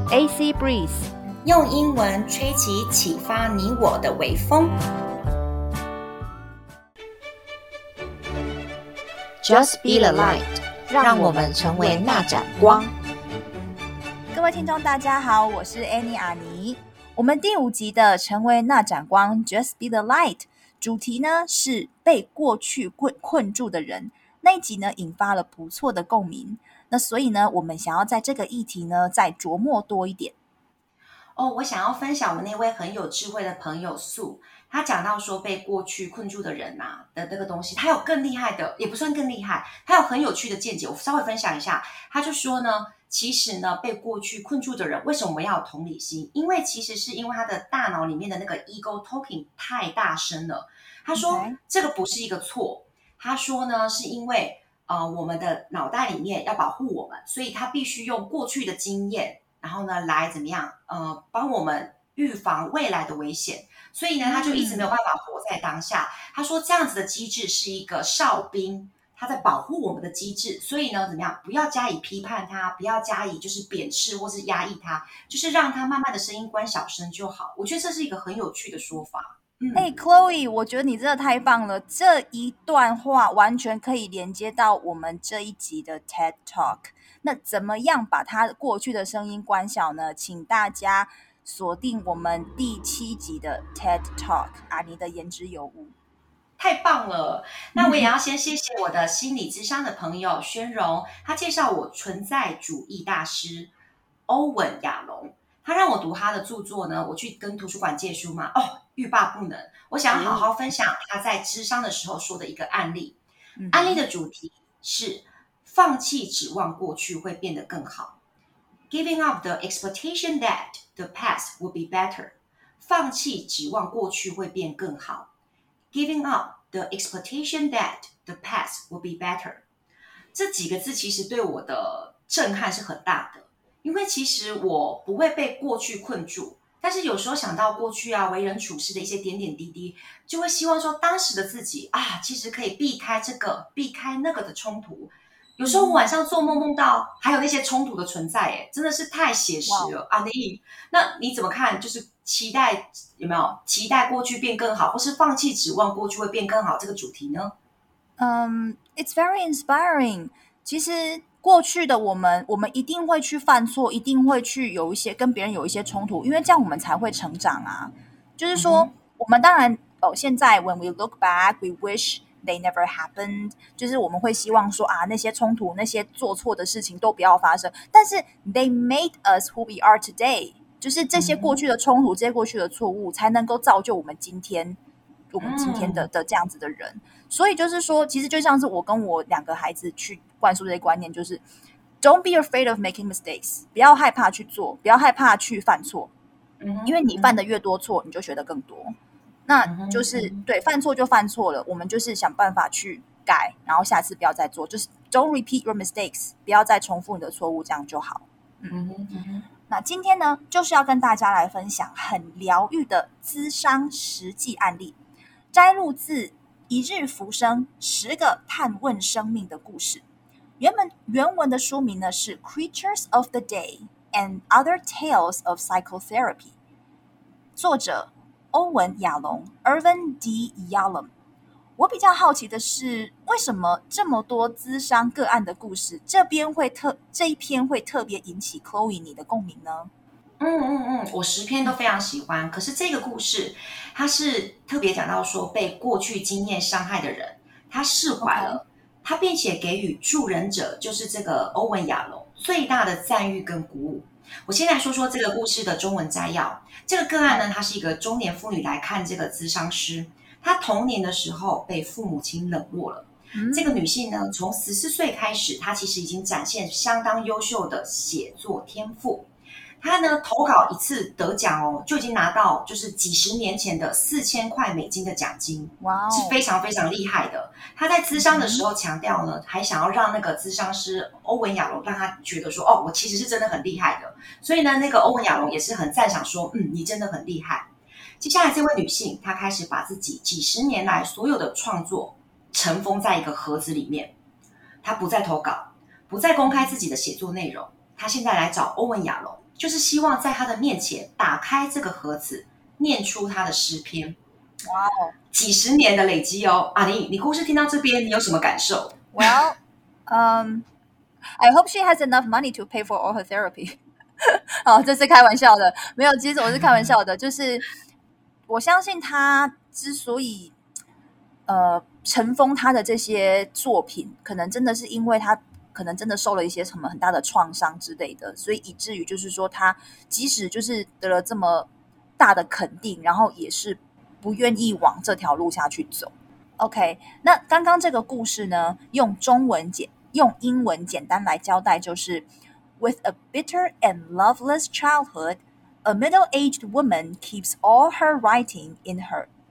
AC Breeze， 用英文吹起啟發你我的微風。 Just be the light， 讓我們成為那盞光。 各位聽眾大家好，我是 Annie 阿妮。我們第5集的成為那盞光 Just be the light 主題呢是被過去困住的人。那一集呢引發了不錯的共鳴，那所以呢我們想要在這個議題呢再琢磨多一點。 我想要分享我那位很有智慧的朋友素，他講到說被過去困住的人的這個東西，他有更厲害的，也不算更厲害，他有很有趣的見解，我稍微分享一下。他就說呢，其實呢被過去困住的人，為什麼我們要有同理心？因為其實是因為他的大腦裡面的那個 ego talking 太大聲了。他說這個不是一個錯，他說呢是因為我們的腦袋裡面要保護我們，所以他必須用過去的經驗，然後呢來怎麼樣幫我們預防未來的危險。所以呢他就一直沒有办法活在當下。他說這樣子的機制是一個哨兵，他在保護我們的機制。所以呢怎麼樣，不要加以批判他，不要加以就是貶斥或是壓抑他，就是讓他慢慢的声音關小聲就好。我覺得這是一個很有趣的說法。 Chloe， 我覺得你真的太棒了，這一段話完全可以連接到我們這一集的 TED Talk。那怎麼樣把他過去的聲音關小呢？請大家鎖定我們第7集的 TED Talk， 阿妮的言之有物。 太棒了！那我也要先謝謝我的心理諮商的朋友宣榮，他介紹我存在主義大師歐文亞龍，他讓我讀他的著作呢，我去跟圖書館借書嘛，欲罷不能。我想要好好分享他在諮商的時候說的一個案例。案例的主題是放棄指望過去會變得更好。Giving up the expectation that the past will be better。放棄指望過去會變更好。Giving up the expectation that the past will be better。這幾個字其實對我的震撼是很大的，因為其實我不會被過去困住，但是有時候想到過去為人處事的一些點點滴滴，就會希望說當時的自己其實可以避開這個避開那個的衝突。有時候我晚上做夢夢到還有那些衝突的存在，真的是太寫實了。阿妮，那你怎麼看？就是期待有沒有期待過去變更好，或是放棄指望過去會變更好這個主題呢 ？It's very inspiring。其實過去的我們一定會去犯錯，一定會去有一些跟別人有一些衝突，因為這樣我們才會成長啊。就是說，我們當然現在 when we look back, we wish they never happened， 就是我們會希望說那些衝突，那些做錯的事情都不要發生。但是 they made us who we are today， 就是這些過去的衝突，這些過去的錯誤，才能夠造就我們今天的這樣子的人。所以就是說，其實就像是我跟我2個孩子去灌輸這些觀念，就是 Don't be afraid of making mistakes， 不要害怕去做，不要害怕去犯錯，因為你犯的越多錯，你就學得更多。那就是对，犯錯就犯錯了，我們就是想辦法去改，然後下次不要再做，就是 Don't repeat your mistakes， 不要再重複你的錯誤，這樣就好。那今天呢，就是要跟大家來分享很療癒的諮商實際案例，摘錄自一日浮生10個探問生命的故事。原文的書名呢是 Creatures of the Day and Other Tales of Psychotherapy， 作者歐文亞龍 Irvin D. Yalom。 我比較好奇的是，為什麼這麼多諮商個案的故事，這一篇會特別引起 Chloe 你的共鳴呢？ 我10篇都非常喜歡，可是這個故事它是特別講到說，被過去經驗傷害的人，他釋懷了，他並且給予助人者，就是這個歐文亞龍最大的讚譽跟鼓舞。我先來說說這個故事的中文摘要。這個個案呢，她是一個中年婦女來看這個諮商師，她童年的時候被父母親冷落了。這個女性呢，從14歲開始，她其實已經展現相當優秀的寫作天賦。他呢投稿一次得獎就已經拿到就是幾十年前的4000塊美金的獎金，是非常非常厲害的。他在諮商的時候強調呢，還想要讓那個諮商師歐文亞龍讓他覺得說，我其實是真的很厲害的。所以呢，那個歐文亞龍也是很讚賞說，你真的很厲害。接下來這位女性，她開始把自己幾十年來所有的創作尘封在一個盒子裡面，她不再投稿，不再公開自己的寫作內容。她現在來找歐文亞龍， 就是希望在他的面前打開這個盒子，念出他的詩篇。 哇哦， 幾十年的累積哦。阿妮，你故事聽到這邊，你有什麼感受？ Well, I hope she has enough money to pay for all her therapy. 好，這是開玩笑的，沒有，其實我是開玩笑的，就是我相信他之所以塵封他的這些作品，可能真的是因為他可能真的受了一些什麼很大的創傷之類的，所以以至於就是說他即使就是得了這麼大的肯定，然後也是不願意往這條路下去走。OK， 那剛剛這個故事呢，用英文簡單來交代，就是 With a bitter and loveless childhood, a middle-aged woman keeps all her writing in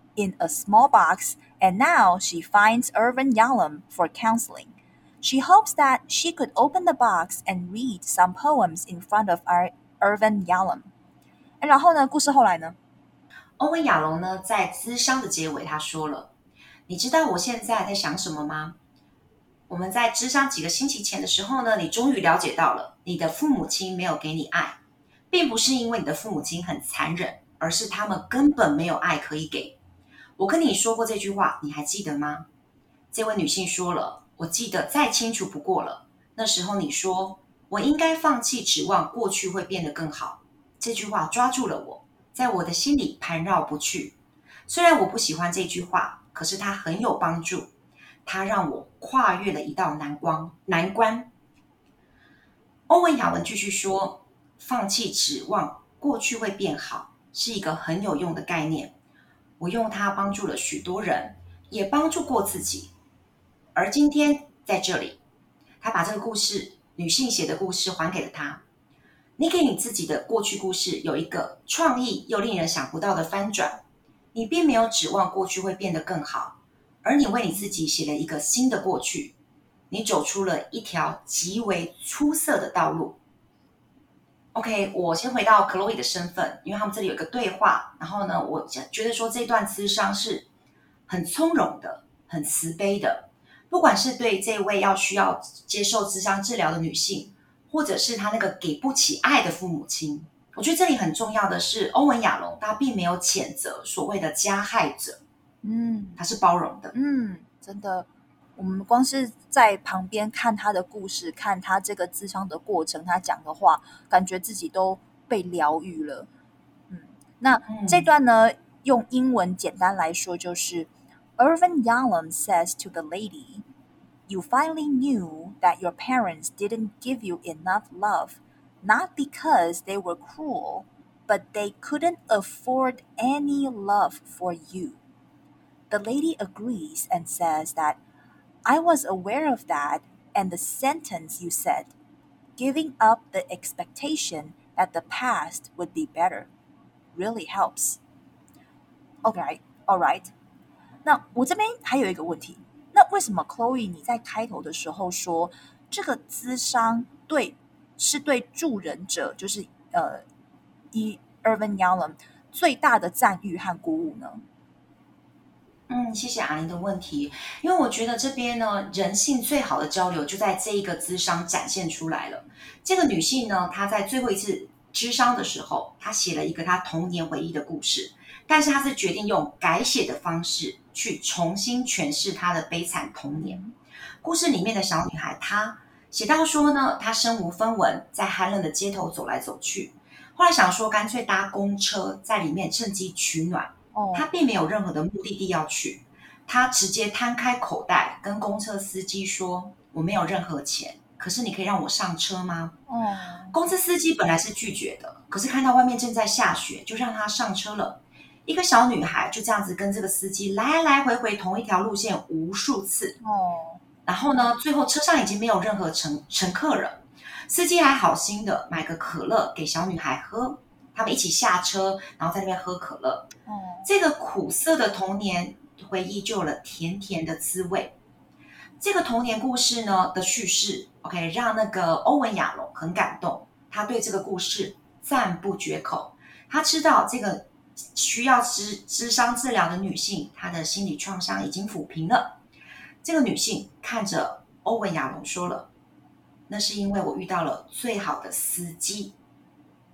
a small box, and now she finds Irvin Yalom for counseling. She hopes that she could open the box and read some poems in front of Irvin Yalom. 然後呢，故事後來呢？ 歐文亞龍呢，在諮商的結尾，他說了：“你知道我現在在想什麼嗎？我們在諮商幾個星期前的時候呢，你終於了解到了，你的父母親沒有給你愛，並不是因為你的父母親很殘忍，而是他們根本沒有愛可以給。我跟你說過這句話，你還記得嗎？”這位女性說了：“我記得再清楚不過了。那時候你說，我應該放棄指望過去會變得更好。”這句話抓住了我，在我的心裡盤繞不去。雖然我不喜歡這句話，可是它很有幫助，它讓我跨越了一道難關。歐文亞文繼續說，放棄指望過去會變好，是一個很有用的概念。我用它幫助了許多人，也幫助過自己。而今天在這裡，他把這個故事，女性寫的故事還給了他。你給你自己的過去故事有一個創意又令人想不到的翻轉，你並沒有指望過去會變得更好，而你為你自己寫了一個新的過去，你走出了一條極為出色的道路。OK， 我先回到 Chloe 的身份，因為他們這裡有一個對話，然後呢，我覺得說這段諮商是很從容的，很慈悲的，不管是對這位需要接受諮商治療的女性，或者是他那個給不起愛的父母親，我覺得這裡很重要的是，歐文亞龍他並沒有譴責所謂的加害者，他是包容的， 真的，我們光是在旁邊看他的故事，看他這個諮商的過程，他講的話，感覺自己都被療癒了。那這段呢，用英文簡單來說就是 Irvin Yalom says to the lady,You finally knew that your parents didn't give you enough love, not because they were cruel, but they couldn't afford any love for you. The lady agrees and says that I was aware of that, and the sentence you said, giving up the expectation that the past would be better, really helps. Okay, all right. 那我這邊還有一個問題。那為什麼 Chloe 你在開頭的時候說這個諮商是對助人者，就是Irvin Yalom 最大的讚譽和鼓舞呢？ 謝謝阿玲的問題，因為我覺得這邊呢，人性最好的交流就在這一個諮商展現出來了。這個女性呢，她在最後一次諮商的時候，她寫了一個她童年回憶的故事，但是她是決定用改寫的方式去重新詮釋她的悲慘童年。故事裡面的小女孩，她寫到說呢，她身無分文，在寒冷的街頭走來走去，後來想說乾脆搭公車，在裡面趁機取暖。她並沒有任何的目的地要去，她直接攤開口袋，跟公車司機說：“我沒有任何錢，可是你可以讓我上車嗎？”公車司機本來是拒絕的，可是看到外面正在下雪，就讓她上車了。一個小女孩就這樣子跟這個司機來來回回同一條路線無數次。然後呢，最後車上已經沒有任何乘客了，司機還好心的買個可樂給小女孩喝。他們一起下車，然後在那邊喝可樂。這個苦澀的童年回憶就有了甜甜的滋味。這個童年故事呢的敘事 ，OK， 讓那個歐文亞龍很感動，他對這個故事讚不絕口。他知道這個需要諮商治療的女性，她的心理創傷已經撫平了。這個女性看着歐文亞龍說了：“那是因為我遇到了最好的司機。”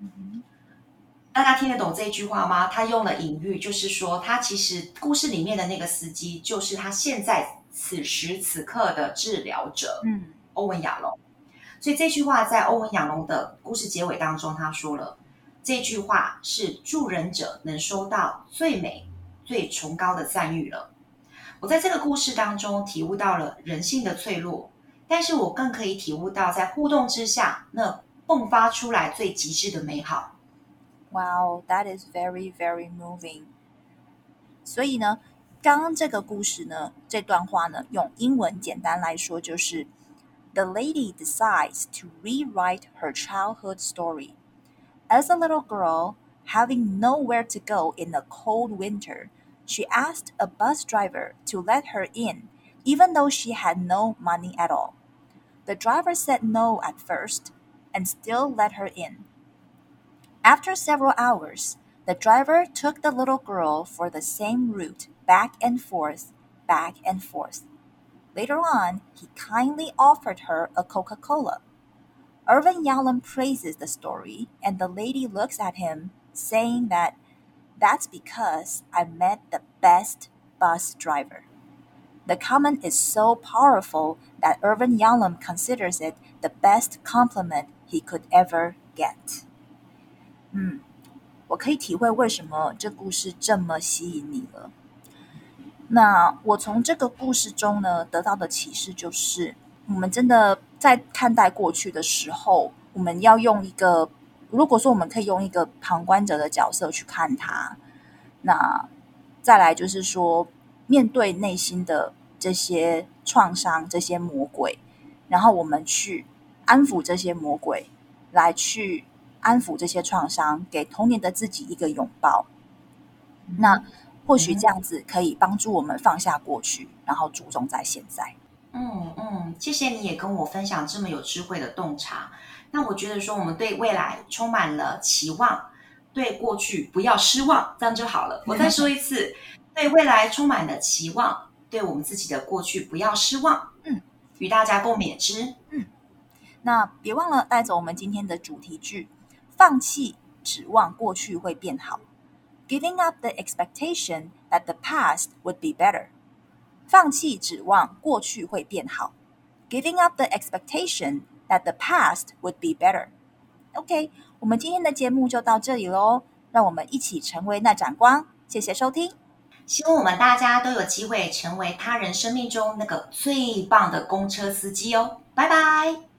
大家聽得懂這句話嗎？他用了隱喻，就是說他其實故事裡面的那個司機，就是他現在此時此刻的治療者，歐文亞龍。所以這句話在歐文亞龍的故事結尾當中，他說了，這句話是助人者能收到最美、最崇高的讚譽了。我在這個故事當中體悟到了人性的脆弱，但是我更可以體悟到在互動之下，那迸發出來最極致的美好。 Wow, that is very, very moving. 所以呢，剛剛這個故事呢，這段話呢，用英文簡單來說就是：The lady decides to rewrite her childhood story. As a little girl, having nowhere to go in the cold winter, she asked a bus driver to let her in, even though she had no money at all. The driver said no at first, and still let her in. After several hours, the driver took the little girl for the same route, back and forth, back and forth. Later on, he kindly offered her a Coca-Cola. Irvin Yalom praises the story, and the lady looks at him, saying that that's because I met the best bus driver. The comment is so powerful that Irvin Yalom considers it the best compliment he could ever get. 我可以體會為什麼這故事這麼吸引你了。那我從這個故事中呢，得到的啟示就是，我們真的在看待過去的時候，我們要用一個，如果說我們可以用一個旁觀者的角色去看它，那再來就是說，面對內心的這些創傷、這些魔鬼，然後我們去安撫這些魔鬼，來去安撫這些創傷，給童年的自己一個擁抱。那或許這樣子可以幫助我們放下過去，然後注重在現在。 謝謝你也跟我分享這麼有智慧的洞察。那我覺得說，我們對未來充滿了期望，對過去不要失望，這樣就好了。我再說一次，對未來充滿了期望，對我們自己的過去不要失望。與大家共勉之。 那別忘了帶走我們今天的主題句：放棄指望過去會變好。Giving up the expectation that the past would be better. 放棄指望過去會變好。Giving up the expectation that the past would be better. OK， 我們今天的節目就到這裡嘍，讓我們一起成為那盞光。謝謝收聽， 希望我們大家都有機會成為他人生命中那個最棒的公車司機哦。拜拜。